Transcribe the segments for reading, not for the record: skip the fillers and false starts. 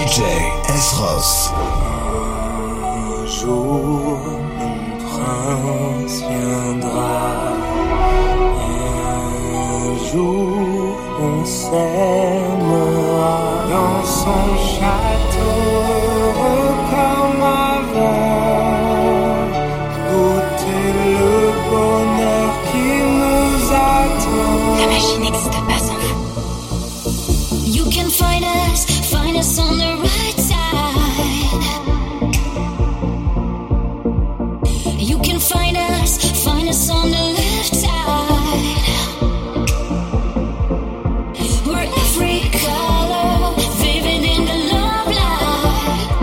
DJ S-Ross. Un jour, mon prince viendra. Un jour, on s'aimera dans son château comme avant. Goûter le bonheur qui nous attend. La magie n'existe pas sans vous. You can find us on the right side. You can find us on the left side. We're every color, vivid in the love light.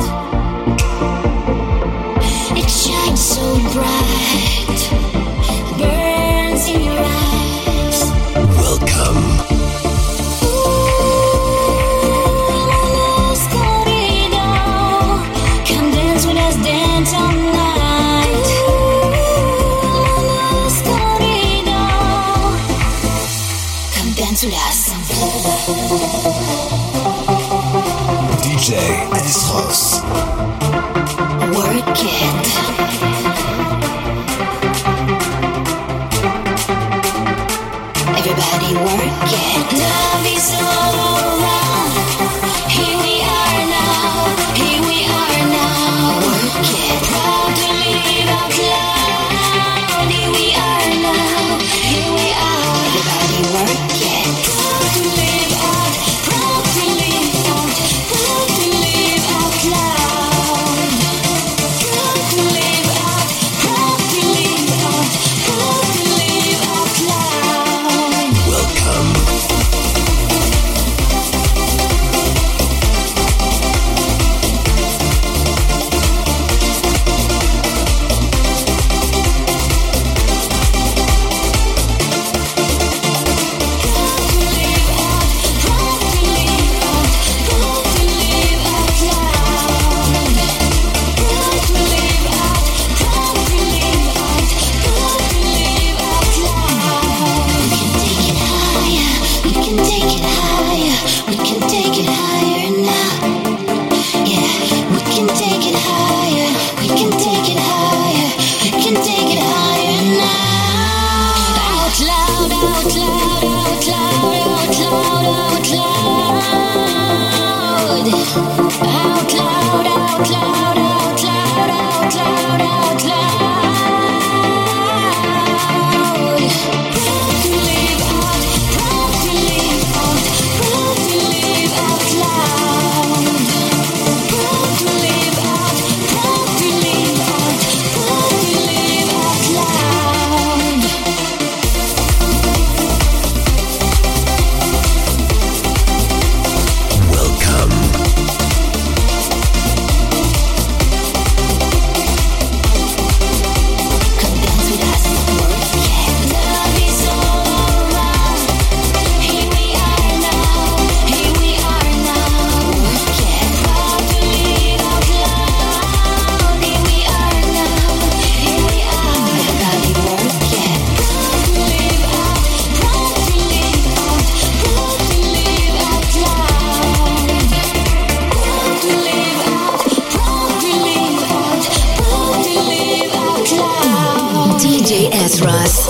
It shines so bright, burns in your eyes. Welcome. DJ S-Ross. Work it. Everybody work it. Love is all around. Here we are now. Here we are now. Work it. Proud to live out loud. Here we are now. Here we are. Everybody work it. Proud to live out. Proud to live out. Proud to live out loud. Proud to live out. Proud to live out. Proud to live out loud. Welcome. DJ S-Ross.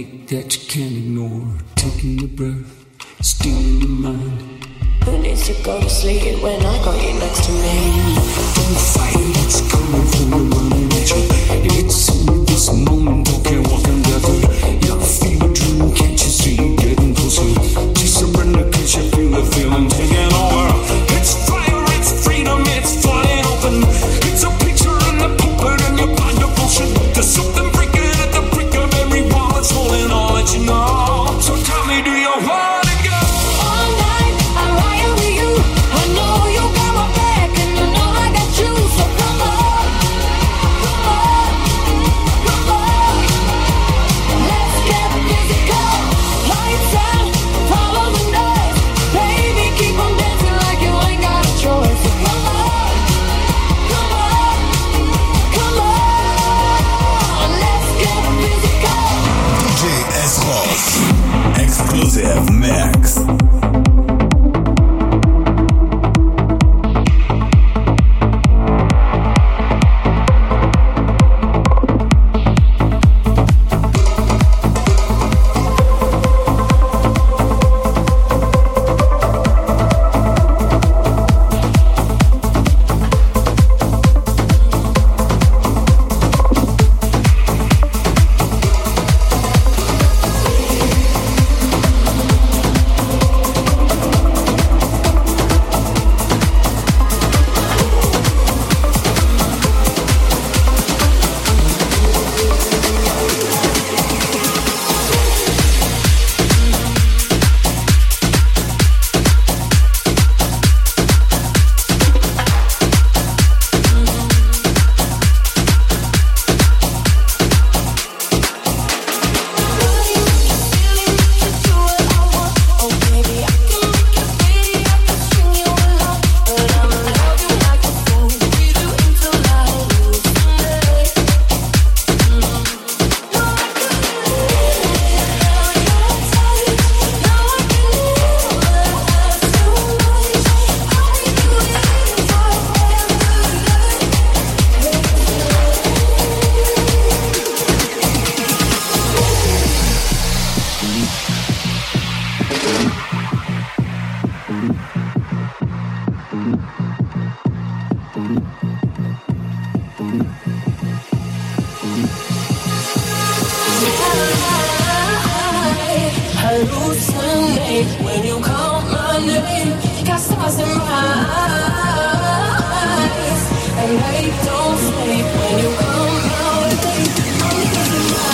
headache that you can't ignore. Taking your breath, stealing your mind. Who needs to go to sleep when I got you next to me? Don't fight it, it's coming from the running at you. It's in this moment, okay, walking together. Yeah, feel a dream, can't you see it getting closer? Just surrender, cause you feel the feeling taking over. It's fire, it's freedom, it's flying open. It's a picture in the puppet and your blind devotion. There's something breaking at the brick of every wall. It's holding all that you know. So tell me, do you want to go? All night, I'm riding with you. I know you got my back and I know I got you. So come on, come on, come on. Let's get physical. Lights out, follow the noise. Baby, keep on dancing like you ain't got a choice. So come on, come on, come on. Let's get physical. DJ S-Ross. Exclusive mix. Hallucinate when you call my name. Got stars in my eyes, and they don't sleep when you come my way. I'm losing my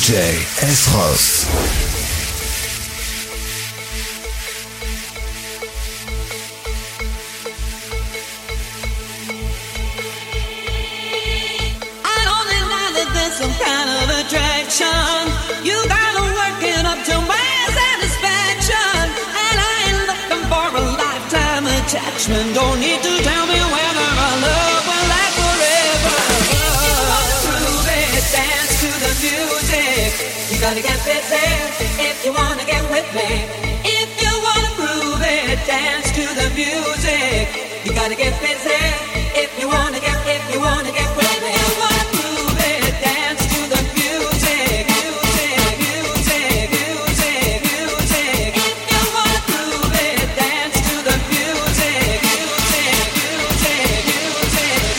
DJ S-Ross. Some kind of attraction. You gotta work it up to my satisfaction. And I ain't looking for a lifetime attachment. Don't need to tell me whether our love will last forever. If you wanna prove it, dance to the music. You gotta get busy if you wanna get with me. If you wanna prove it, dance to the music. You gotta get busy if you wanna get with me. If you wanna prove it, dance to the music, music, music, music, music. If you wanna prove it, dance to the music, music, music, music,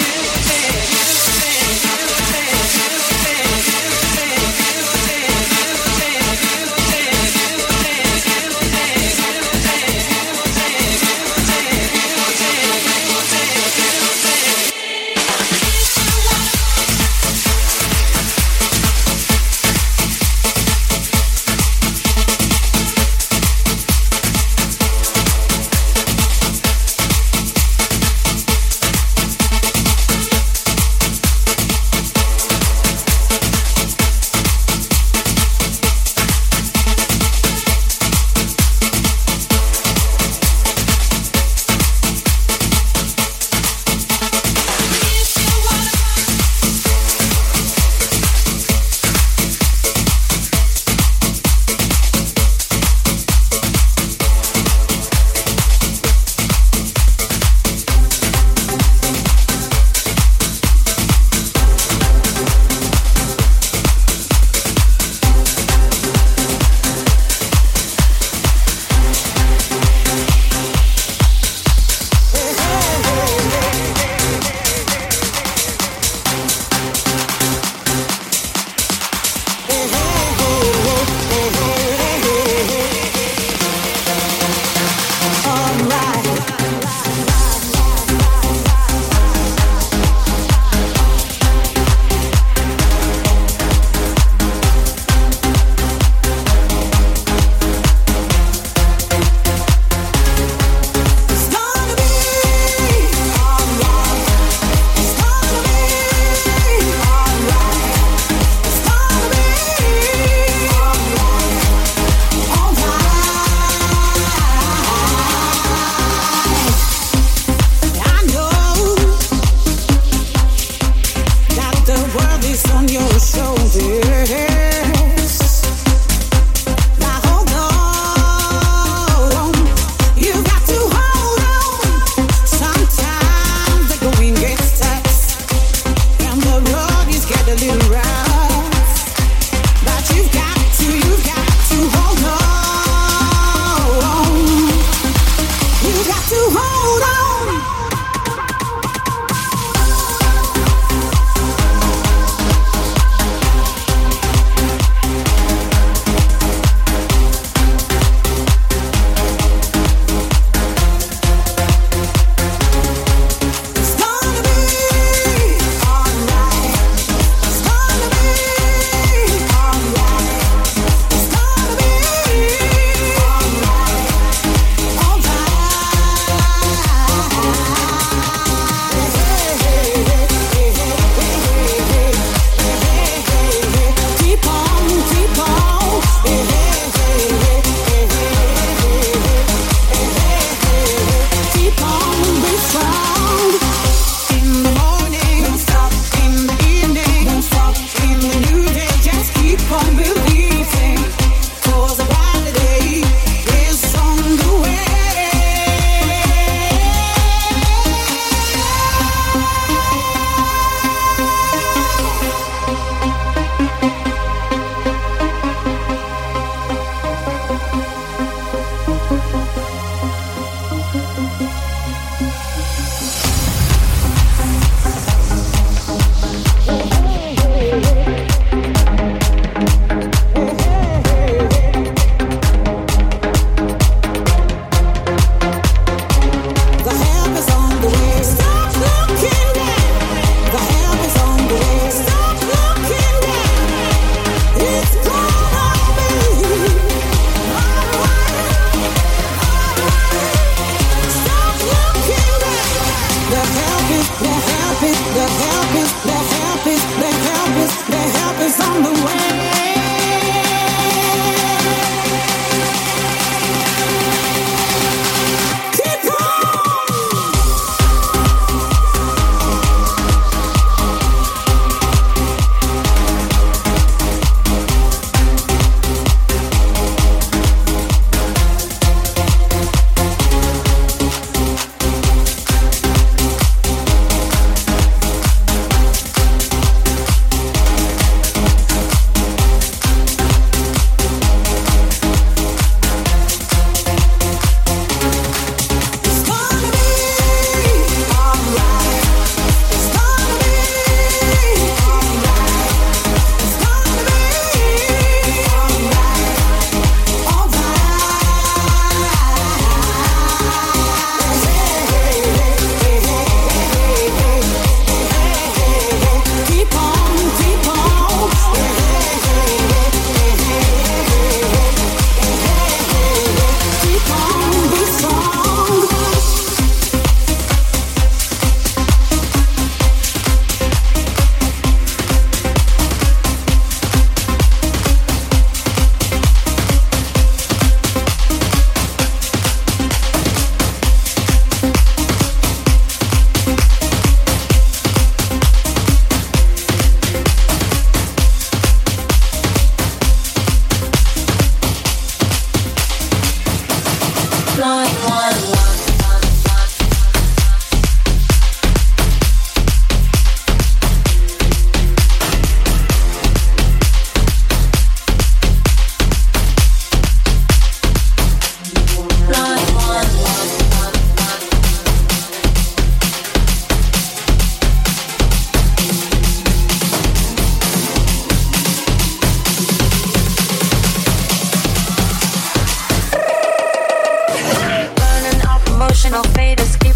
music, music, music, music, music, music, music, music, music.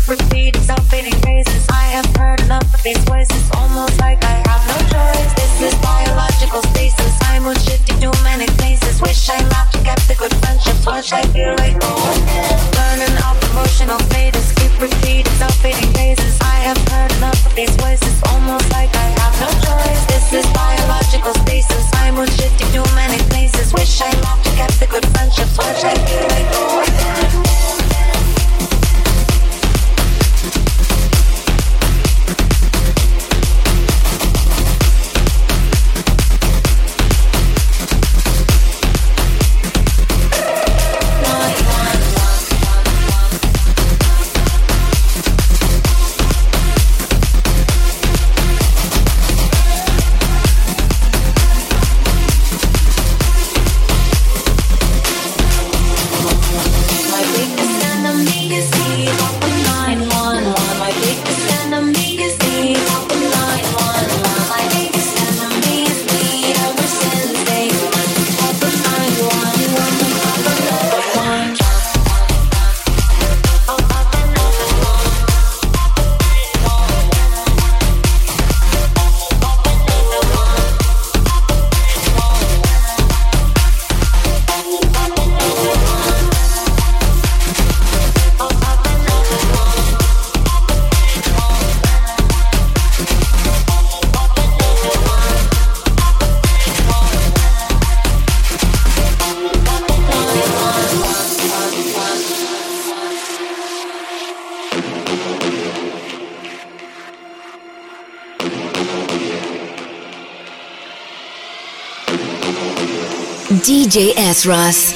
repeating self-fading phrases. I have heard enough of these voices, almost like I have no choice. This is biological stasis. I'm on shifting too many places. Wish I laughed and kept the good friendships. Watch I feel like burning off emotional status. Keep repeating self-fading phrases. I have heard enough of these voices, almost like I have no choice. This is biological stasis. I'm on shifting too many places. Wish I laughed and kept the good friendships. Watch I feel like DJ S. Ross.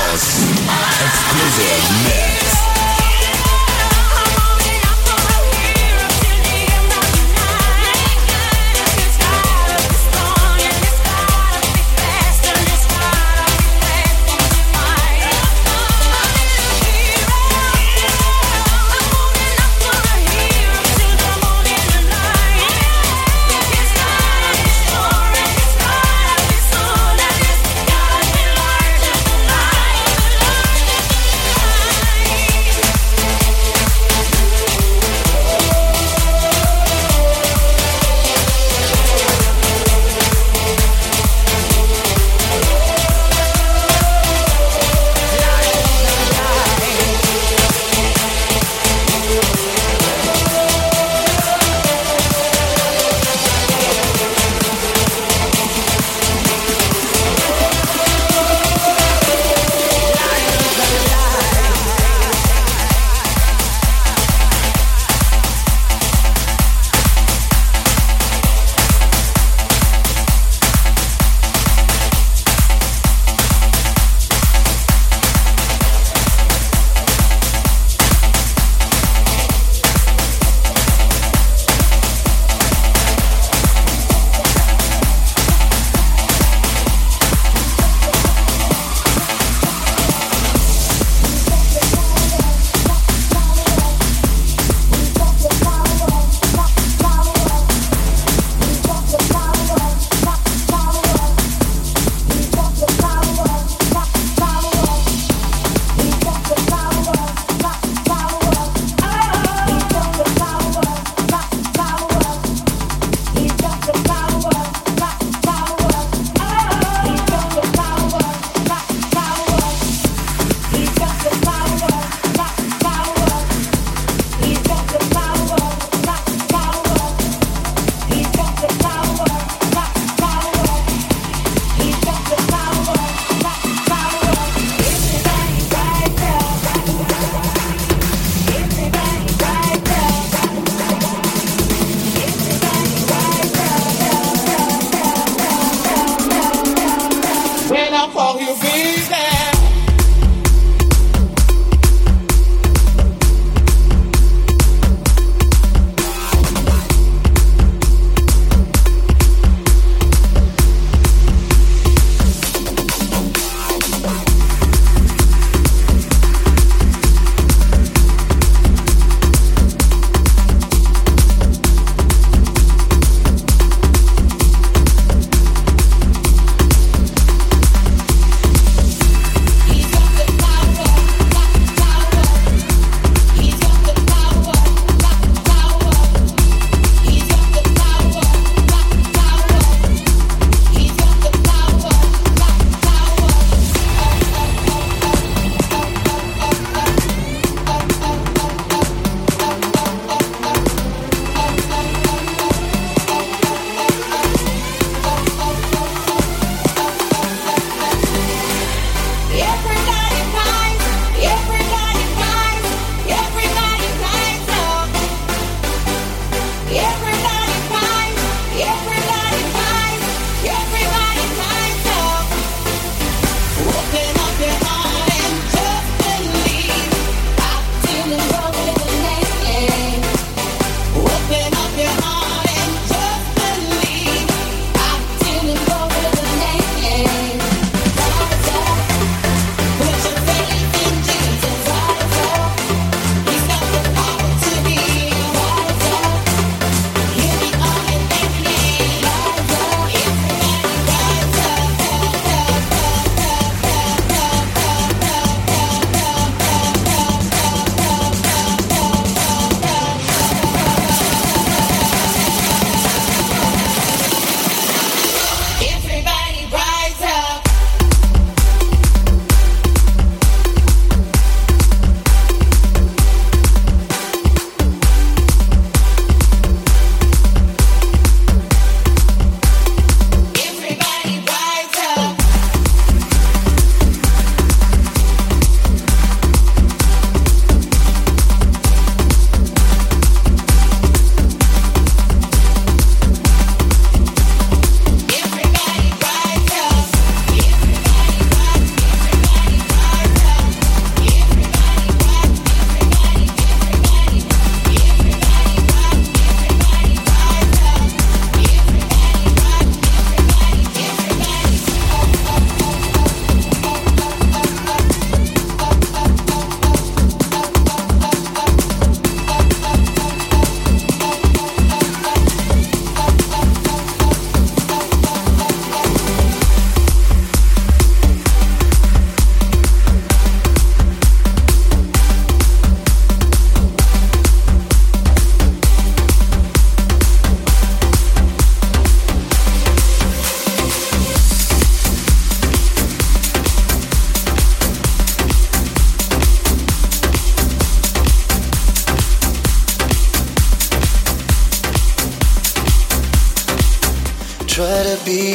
Exclusive mix.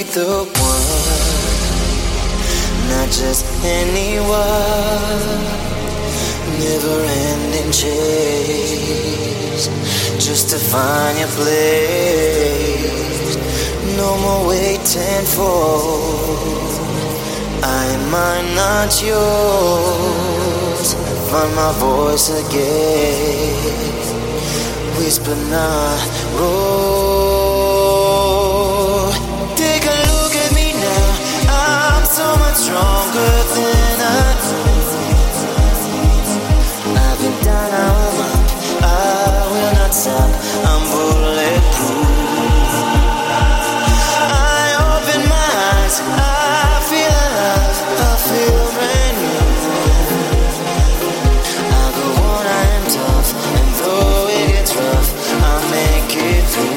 the one, not just anyone. Never-ending chase, just to find your place. No more waiting for I might not yours. Find my voice again, whisper not roar. Take a look at me now, I'm so much stronger than I thought. I've been down, now I'm up, I will not stop, I'm bulletproof. I open my eyes, I feel alive, I feel brand new. I go on, I am tough, and though it gets rough, I'll make it through.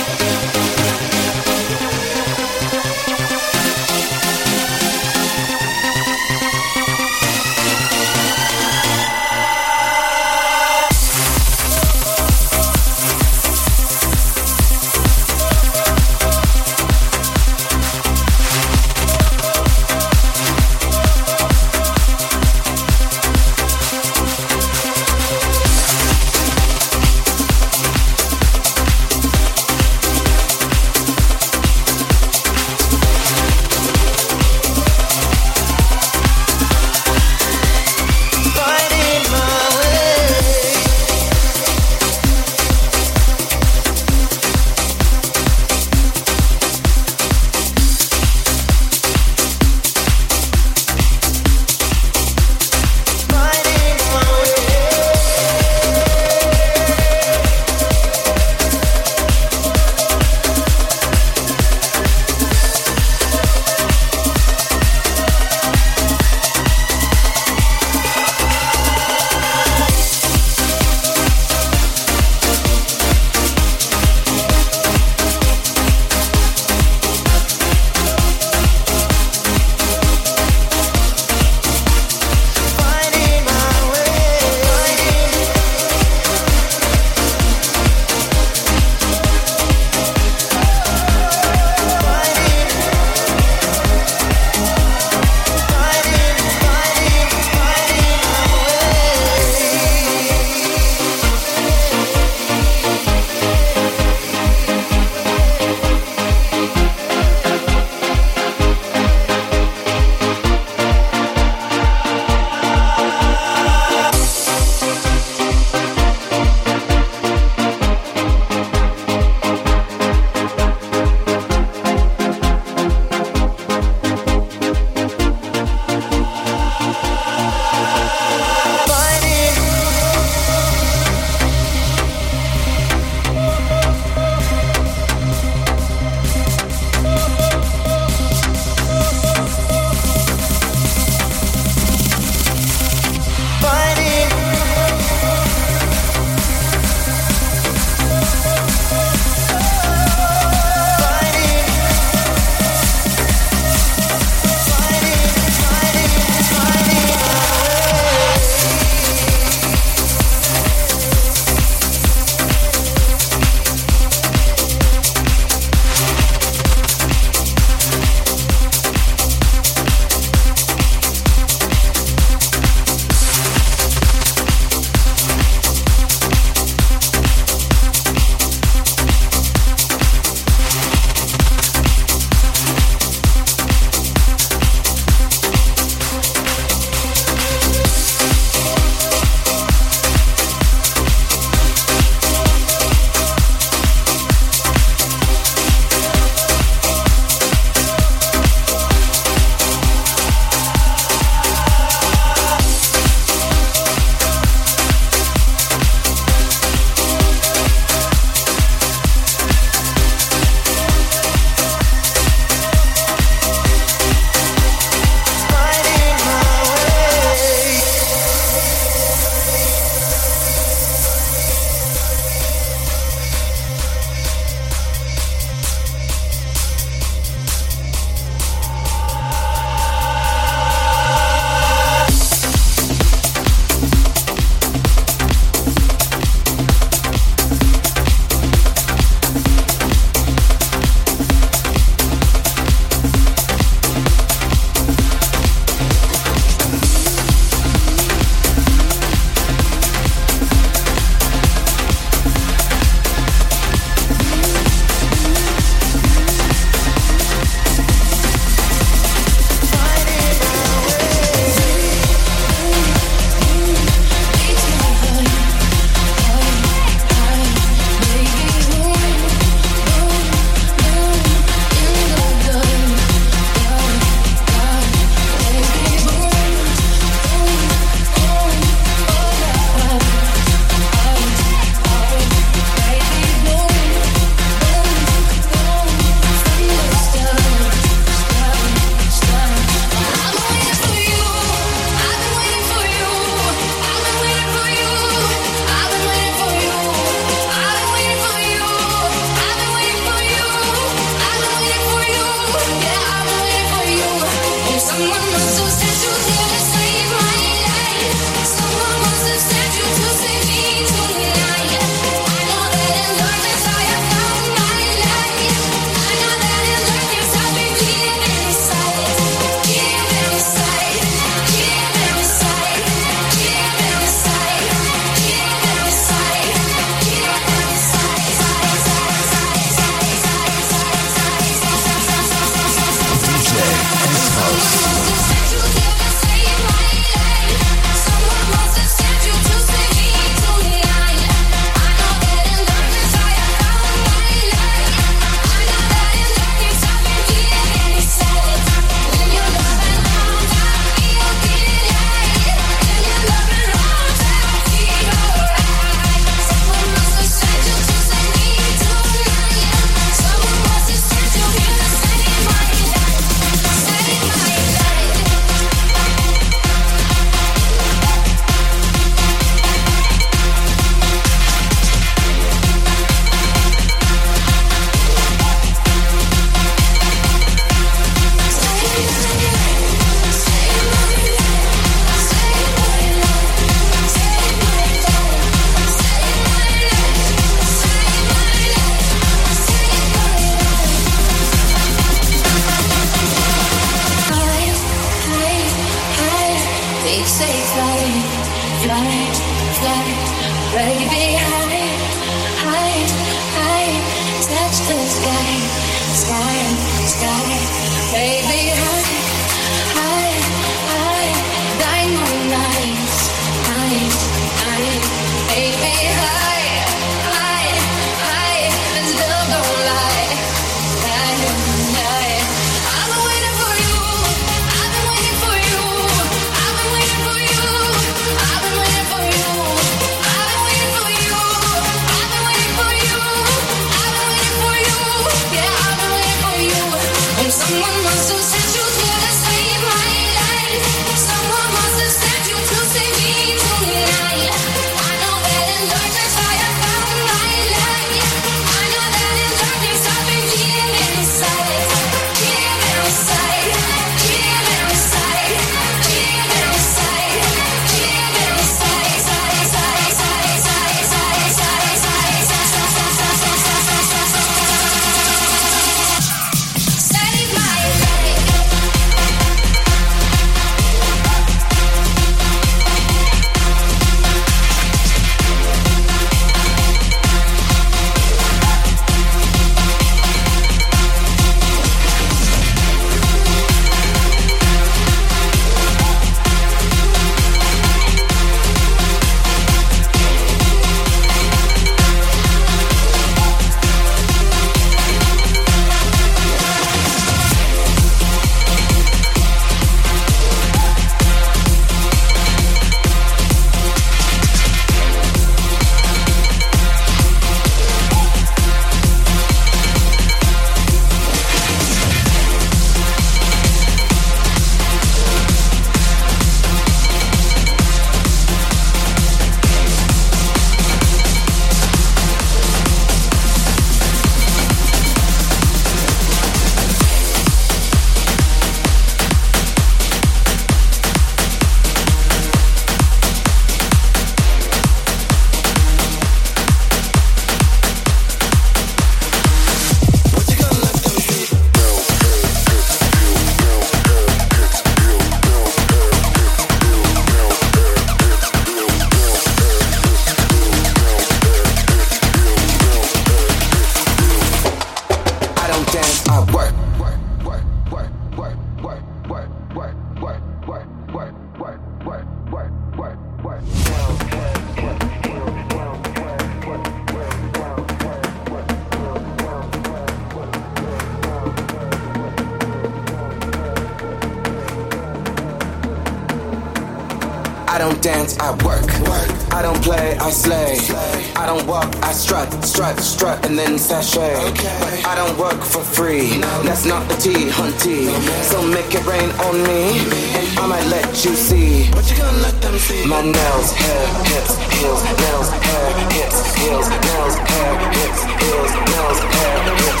I don't dance, I work. I don't play, I slay. I don't walk, I strut, and then sashay. But I don't work for free. That's not the tea, hunty. So make it rain on me, and I might let you see. But you gonna let them see. My nails, hair, hips, heels, nails, hair, hips, heels, nails, hair, hips, heels, nails, hair, hips,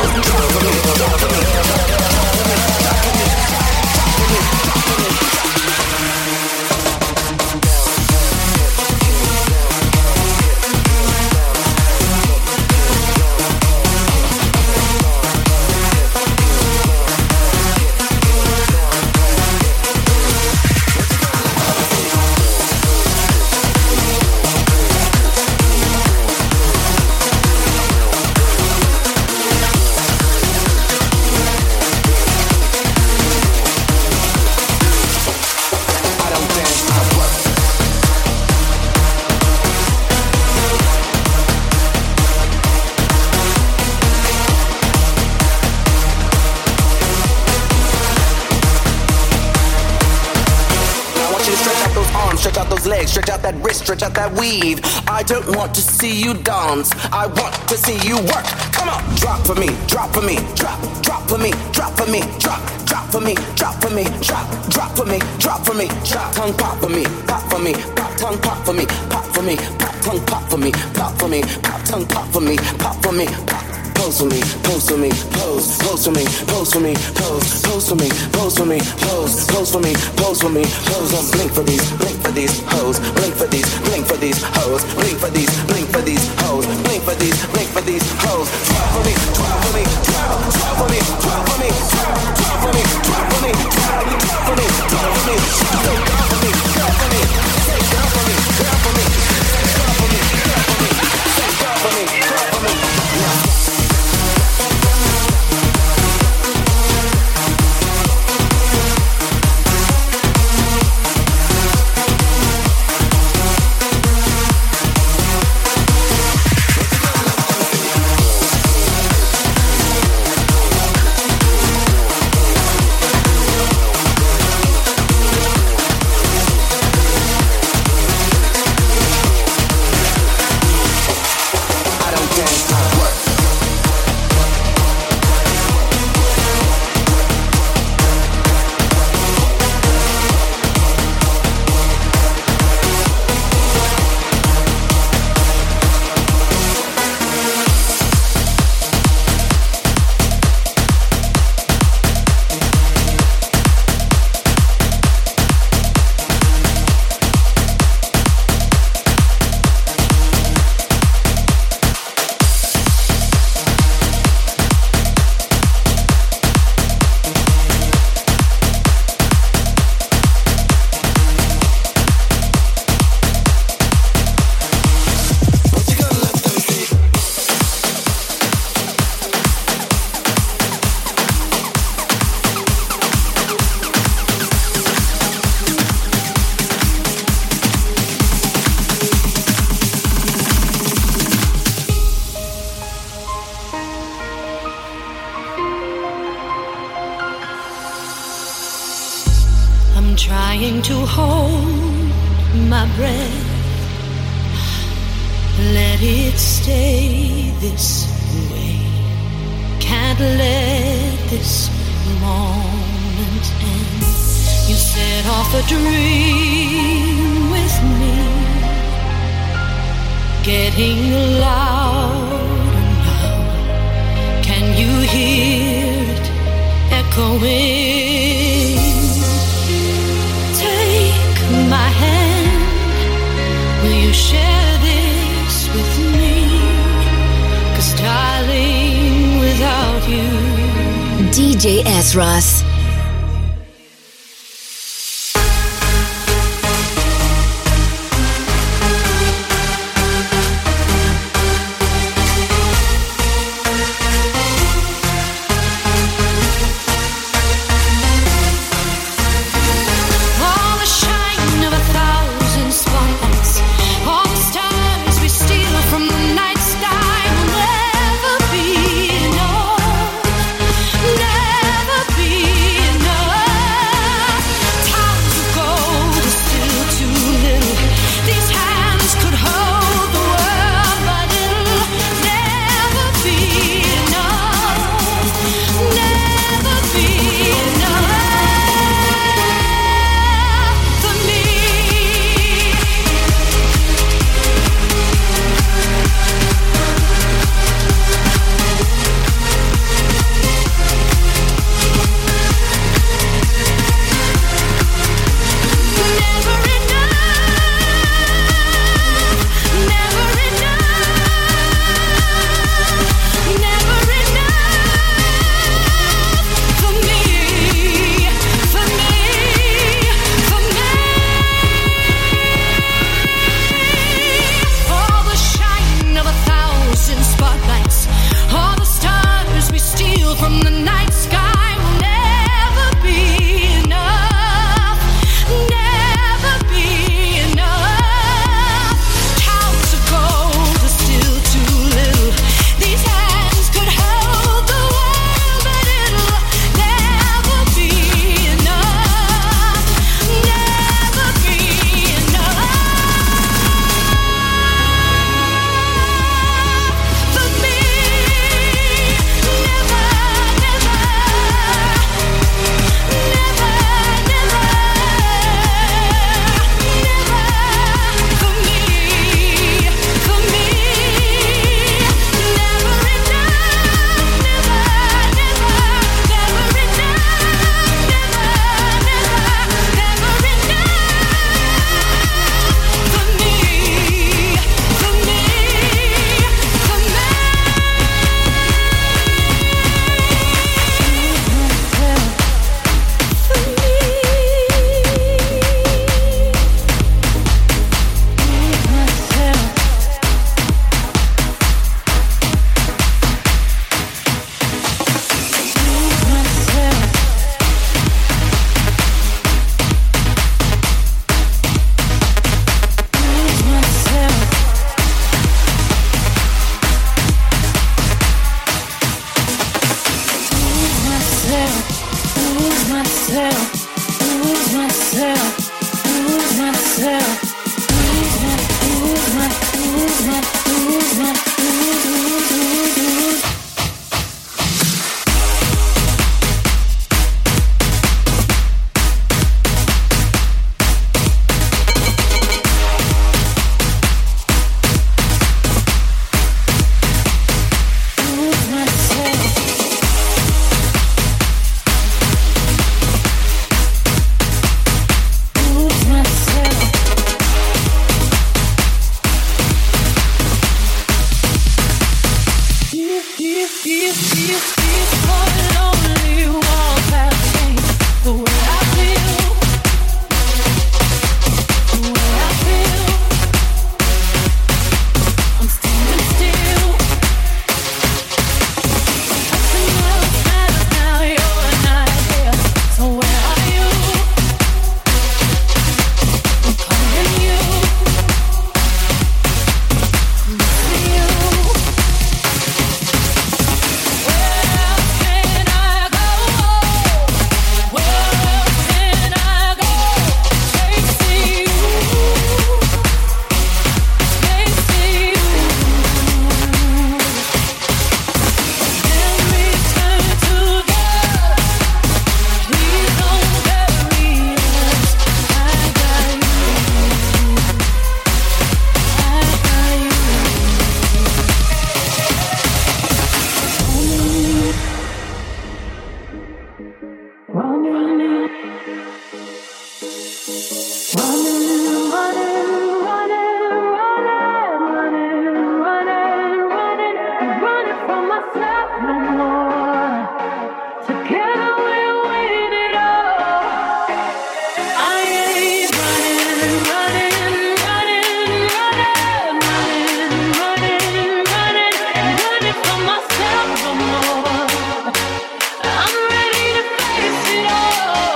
stretch out that wrist, stretch out that weave. I don't want to see you dance, I want to see you work. Come on, drop for me, drop for me, drop for me, drop for me, drop for me, drop for me, drop for me, drop for me, drop tongue pop for me, pop for me, pop tongue pop for me, pop for me, pop tongue pop for me, pop for me, pop tongue pop for me, pop for me, pop. Pose for me, pose for me, pose for me, pose for me, pose for me, pose for me, pose for me, pose for me, pose on blink for these hoes, blink for these hoes, blink for these hoes, blink for these hoes. Drop for me, drop for me, drop for me, drop for me, drop for me, drop for me, drop for me, drop for me, say girl for me, girl for me, say girl for me, girl for me, girl for me, girl for me, say girl for me, girl for me. trying to hold my breath. Let it stay this way. Can't let this moment end. You set off a dream with me, getting louder now. Can you hear it echoing? Take my hand. Will you share this with me? 'Cause darling, without you, DJ Esras. Where can I go? from myself no more. Together we'll win it all. I ain't running, running, running, running, running, running, running, running from myself no more. I'm ready to face it all.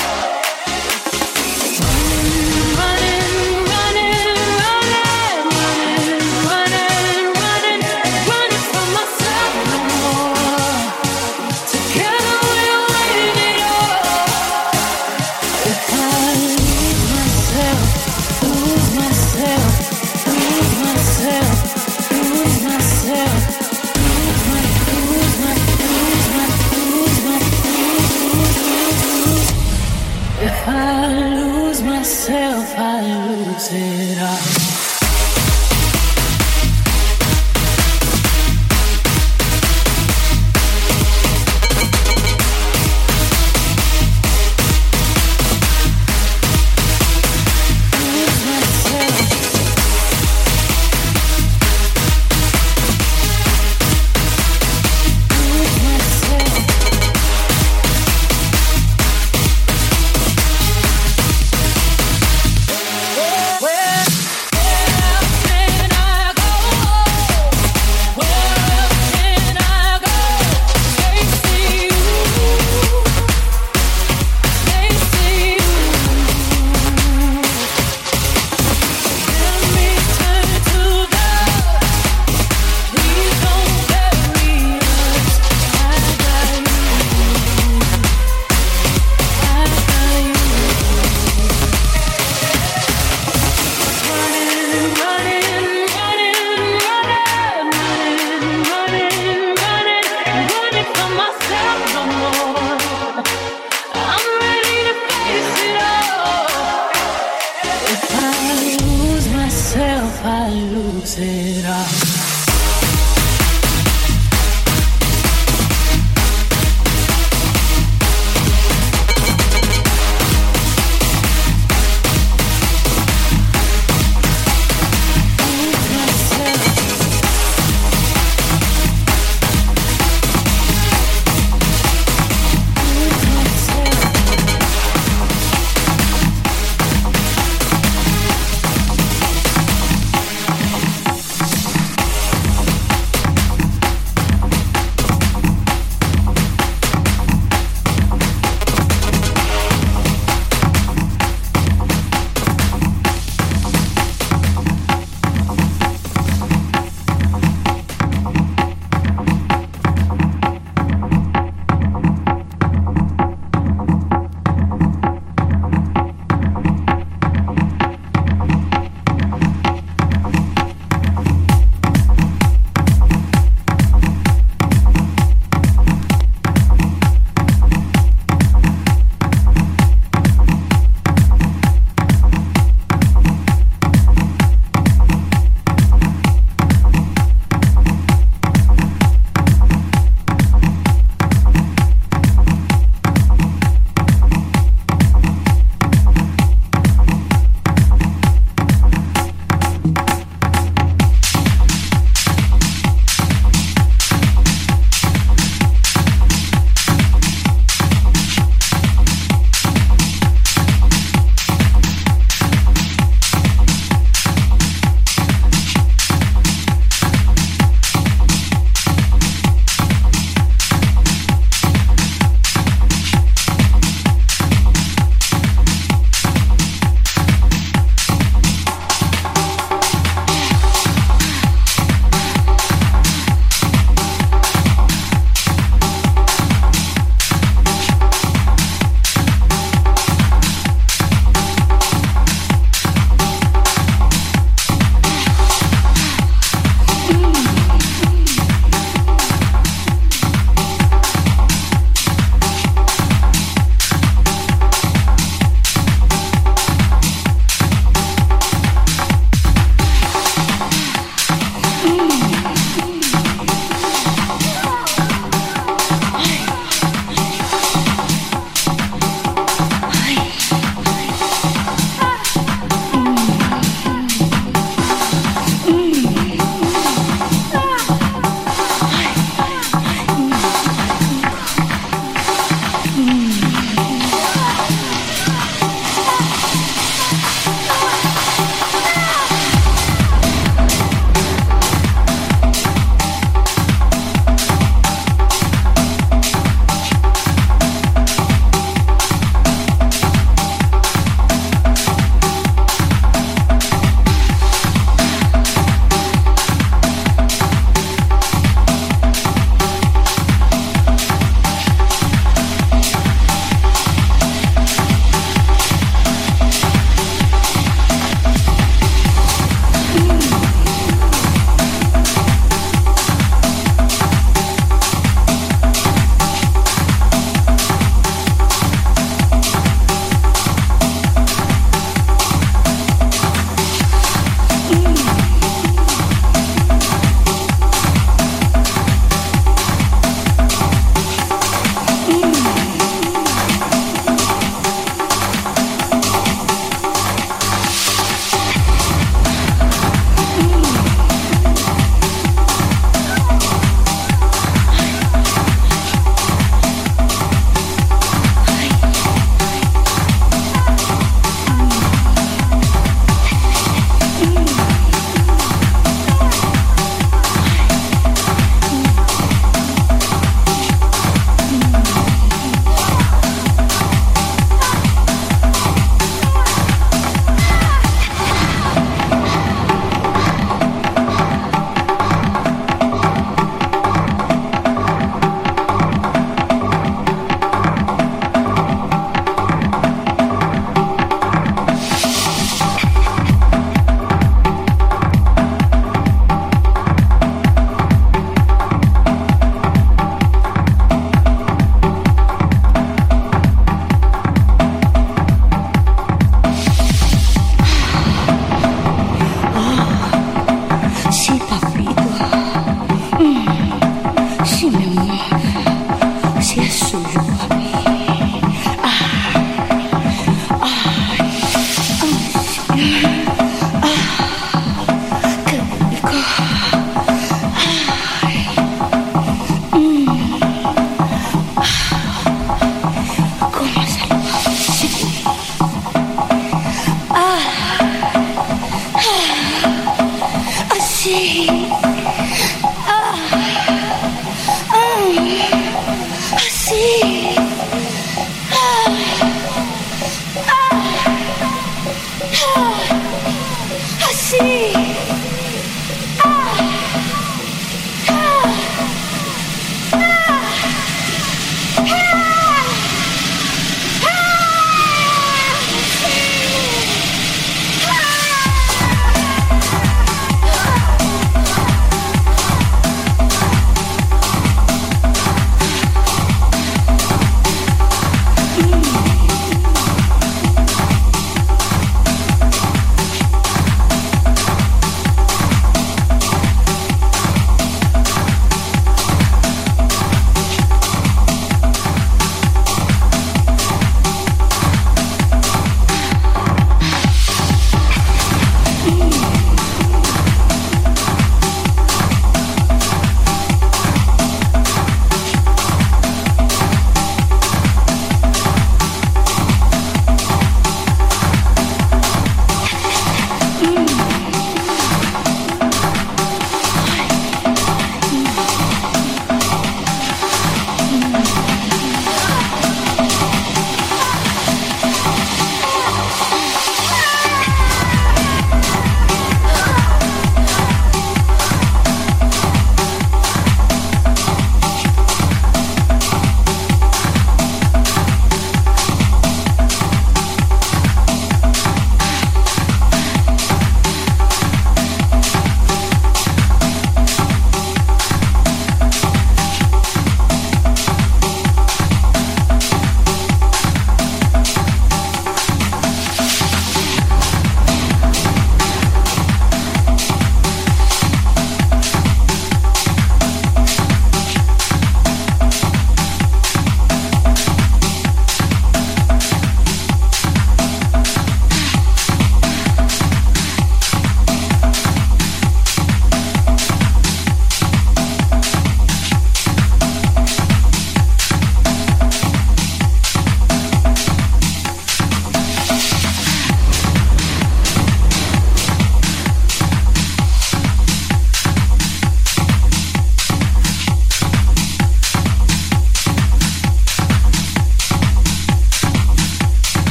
Running, running, running, running, running, running, running from myself no more. Together we'll win it all. If I lose myself, lose myself, lose myself, lose myself, lose my, lose my, lose my, lose my, lose. If I lose myself, I lose it all. Lose myself. Lose myself. Well,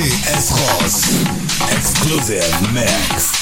DJ S. Ross. Exclusive mix.